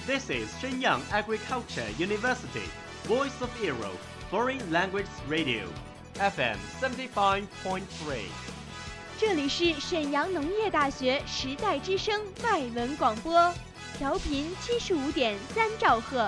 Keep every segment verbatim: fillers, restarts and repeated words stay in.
This is Shenyang Agriculture University, Voice of Europe, Foreign Language Radio, F M seventy-five point three。 这里是沈阳农业大学时代之声外文广播，调频七十五点三兆赫。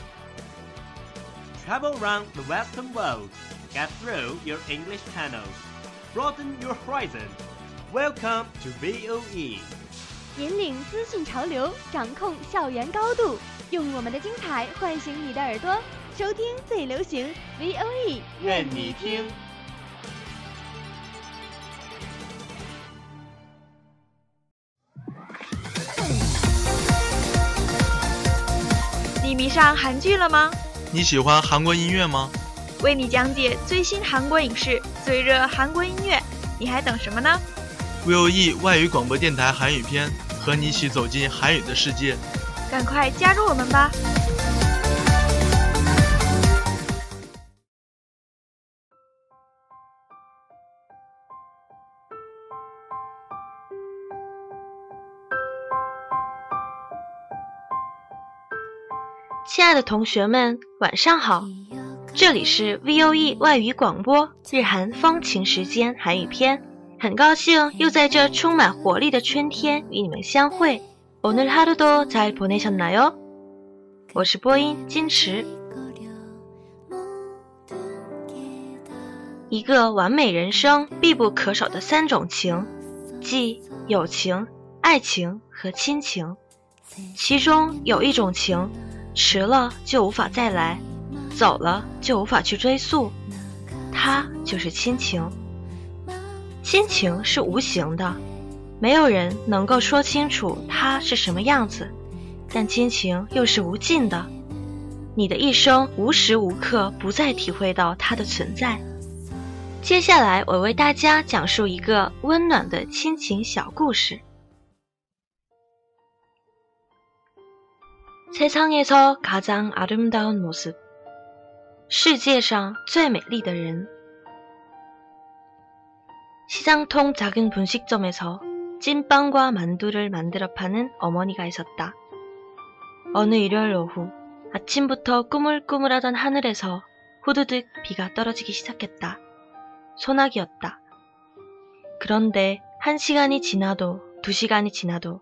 Travel around the Western world, get through your English channels, broaden your horizon. Welcome to V O E。 引领资讯潮流，掌控校园高度，用我们的精彩唤醒你的耳朵，收听最流行 V O E， 愿你听。 你迷上韩剧了吗？ 你喜欢韩国音乐吗？ 为你讲解最新韩国影视、最热韩国音乐，你还等什么呢 ？V O E 外语广播电台韩语篇，和你一起走进韩语的世界。 赶快加入我们吧！亲爱的同学们，晚上好！这里是 V O E 外语广播日韩风情时间韩语篇，很高兴又在这充满活力的春天与你们相会。오늘 하루도 잘 보내셨나요？我是播音金池。一个完美人生必不可少的三种情，即友情、爱情和亲情。其中有一种情，迟了就无法再来，走了就无法去追溯，它就是亲情。亲情是无形的，没有人能够说清楚它是什么样子，但亲情又是无尽的，你的一生无时无刻不再体会到它的存在。接下来我为大家讲述一个温暖的亲情小故事。세상에서 가장 아름다운 모습， 世界上最美丽的人。시장통 작은 분식점에서 찐빵과 만두를 만들어 파는 어머니가 있었다. 어느 일요일 오후 아침부터 꾸물꾸물하던 하늘에서 후두둑 비가 떨어지기 시작했다. 소나기였다. 그런데 한 시간이 지나도 두 시간이 지나도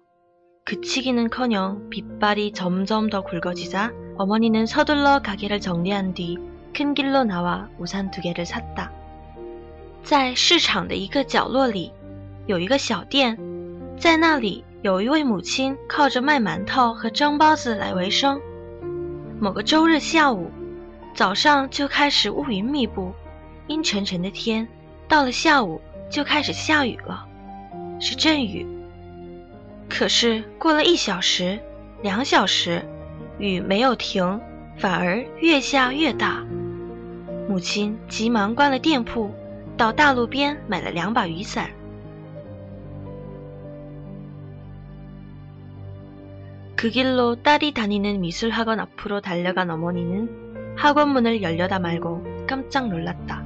그치기는커녕 빗발이 점점 더 굵어지자 어머니는 서둘러 가게를 정리한 뒤 큰 길로 나와 우산 두 개를 샀다. 在市场的一个角落里，有一个小店，在那里有一位母亲靠着卖馒头和蒸包子来维生。某个周日下午，早上就开始乌云密布，阴沉沉的天，到了下午就开始下雨了，是阵雨。可是过了一小时、两小时，雨没有停，反而越下越大。母亲急忙关了店铺，到大路边买了两把雨伞。그 길로 딸이 다니는 미술학원 앞으로 달려간 어머니는 학원 문을 열려다 말고 깜짝 놀랐다.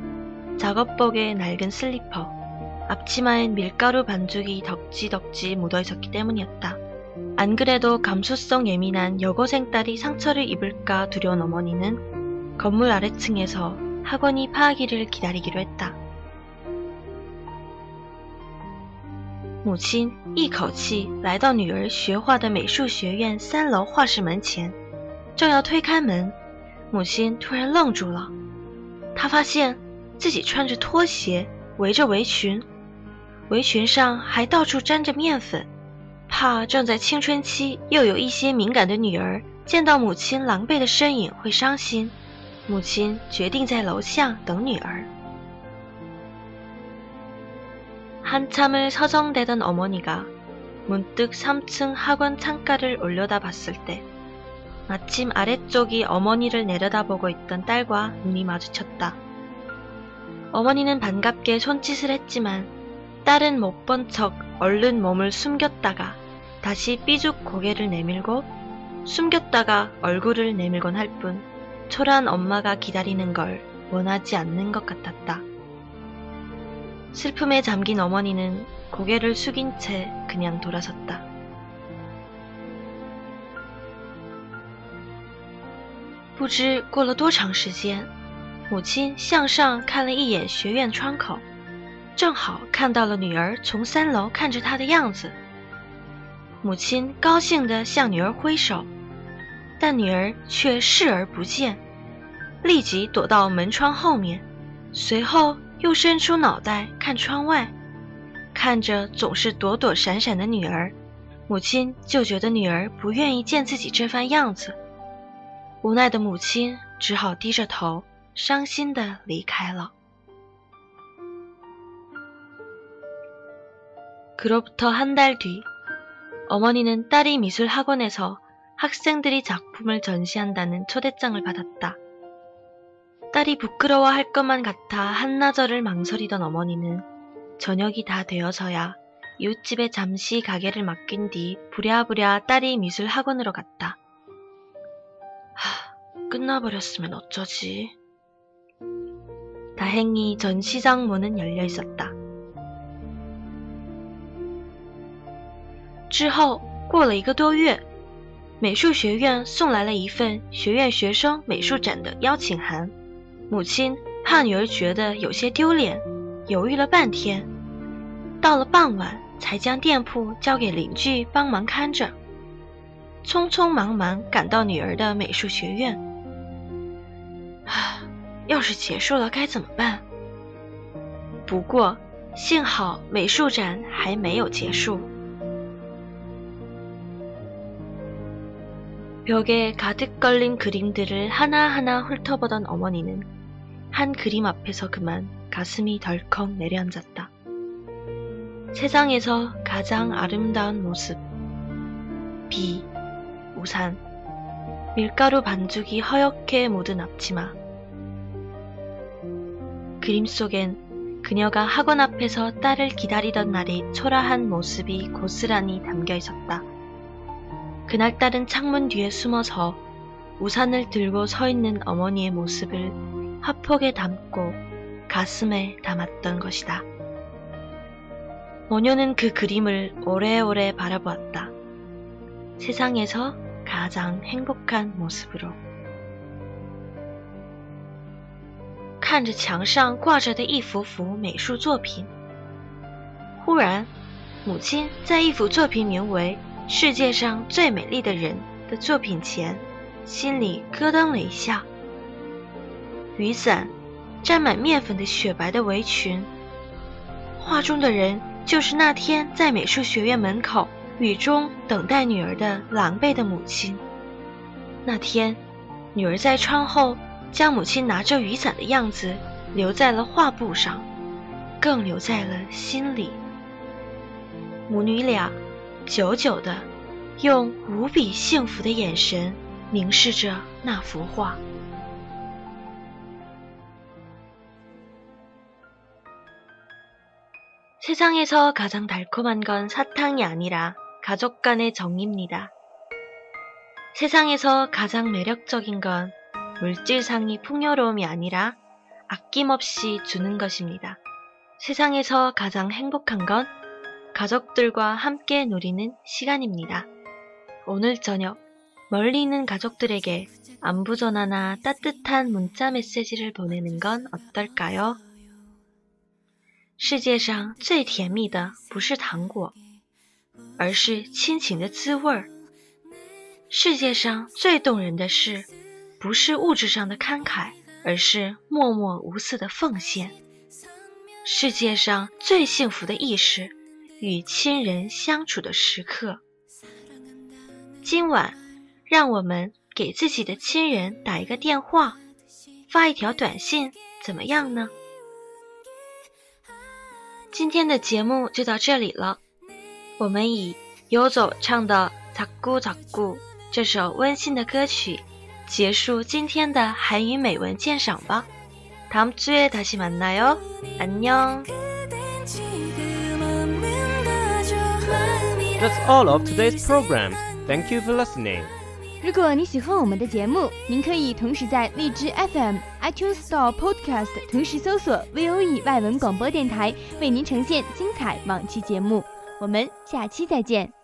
작업복에 낡은 슬리퍼, 앞치마엔 밀가루 반죽이 덕지덕지 묻어있었기 때문이었다. 안 그래도 감수성 예민한 여고생 딸이 상처를 입을까 두려운 어머니는 건물 아래층에서 학원이 파하기를 기다리기로 했다. 母亲一口气来到女儿学画的美术学院三楼画室门前，正要推开门，母亲突然愣住了。她发现自己穿着拖鞋，围着围裙，围裙上还到处沾着面粉，怕正在青春期又有一些敏感的女儿见到母亲狼狈的身影会伤心。母亲决定在楼下等女儿。한참을 서정대던 어머니가 문득 삼 층 학원 창가를 올려다봤을 때 마침 아래쪽이 어머니를 내려다보고 있던 딸과 눈이 마주쳤다. 어머니는 반갑게 손짓을 했지만 딸은 못 본 척 얼른 몸을 숨겼다가 다시 삐죽 고개를 내밀고 숨겼다가 얼굴을 내밀곤 할 뿐 초라한 엄마가 기다리는 걸 원하지 않는 것 같았다. 슬픔에 잠긴 어머니는 고개를 숙인 채 그냥 돌아섰다. 不知过了多长时间，母亲向上看了一眼学院窗口，正好看到了女儿从三楼看着她的样子。母亲高兴地向女儿挥手，但女儿却视而不见，立即躲到门窗后面，随后又伸出脑袋看窗外。看着总是躲躲闪闪的女儿，母亲就觉得女儿不愿意见自己这番样子。无奈的母亲只好低着头，伤心地离开了。그로부터 한 달 뒤, 어머니는 딸이 미술학원에서 학생들이 작품을 전시한다는 초대장을 받았다. 딸이 부끄러워할 것만 같아 한나절을 망설이던 어머니는 저녁이 다 되어서야 이웃집에 잠시 가게를 맡긴 뒤 부랴부랴 딸이 미술학원으로 갔다. 하, 끝나버렸으면 어쩌지. 다행히 전시장 문은 열려 있었다. 之后过了一个多月，美术学院送来了一份学院学生美术展的邀请函。母亲怕女儿觉得有些丢脸，犹豫了半天，到了傍晚才将店铺交给邻居帮忙看着，匆匆忙忙赶到女儿的美术学院。啊，要是结束了该怎么办？不过幸好美术展还没有结束。벽에 가득 걸린 그림들을 하나하나 훑어보던 어머니는 한 그림 앞에서 그만 가슴이 덜컥 내려앉았다. 세상에서 가장 아름다운 모습. 비, 우산, 밀가루 반죽이 허옇게 묻은 앞치마. 그림 속엔 그녀가 학원 앞에서 딸을 기다리던 날의 초라한 모습이 고스란히 담겨 있었다. 그날 딸은 창문 뒤에 숨어서 우산을 들고 서 있는 어머니의 모습을 화폭에 담고 가슴에 담았던 것이다. 모녀는 그 그림을 오래오래 바라보았다. 세상에서 가장 행복한 모습으로. 看着墙上挂着的一幅幅美术作品，忽然，母亲在一幅作品名为《世界上最美丽的人》的作品前，心里咯噔了一下。雨伞，沾满面粉的雪白的围裙，画中的人就是那天在美术学院门口雨中等待女儿的狼狈的母亲。那天，女儿在窗后将母亲拿着雨伞的样子留在了画布上，更留在了心里。母女俩久久地用无比幸福的眼神凝视着那幅画。세상에서 가장 달콤한 건 사탕이 아니라 가족 간의 정입니다. 세상에서 가장 매력적인 건 물질상의 풍요로움이 아니라 아낌없이 주는 것입니다. 세상에서 가장 행복한 건 가족들과 함께 누리는 시간입니다. 오늘 저녁 멀리 있는 가족들에게 안부 전화나 따뜻한 문자 메시지를 보내는 건 어떨까요? 世界上最甜蜜的不是糖果，而是亲情的滋味儿。世界上最动人的事，不是物质上的慷慨，而是默默无私的奉献。世界上最幸福的意识，与亲人相处的时刻。今晚，让我们给自己的亲人打一个电话，发一条短信，怎么样呢？今天的节目就到这里了，我们以游走唱的《자꾸 자꾸》这首温馨的歌曲结束今天的韩语美文鉴赏吧。다음 주에 다시 만나요. 안녕. That's all of today's program. Thank you for listening. 如果你喜欢我们的节目，您可以同时在荔枝 F M、iTunes Store、Podcast 同时搜索 V O E 外文广播电台，为您呈现精彩往期节目。我们下期再见。